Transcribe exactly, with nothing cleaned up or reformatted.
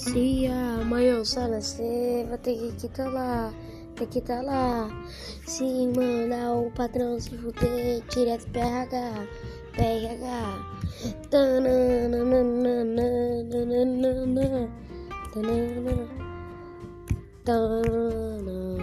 Se amanhã eu só nascer, vou ter que tá lá, ter que tá lá. Se mandar o patrão se fuder, direto P H, P H. Tananana, tananana, tananana.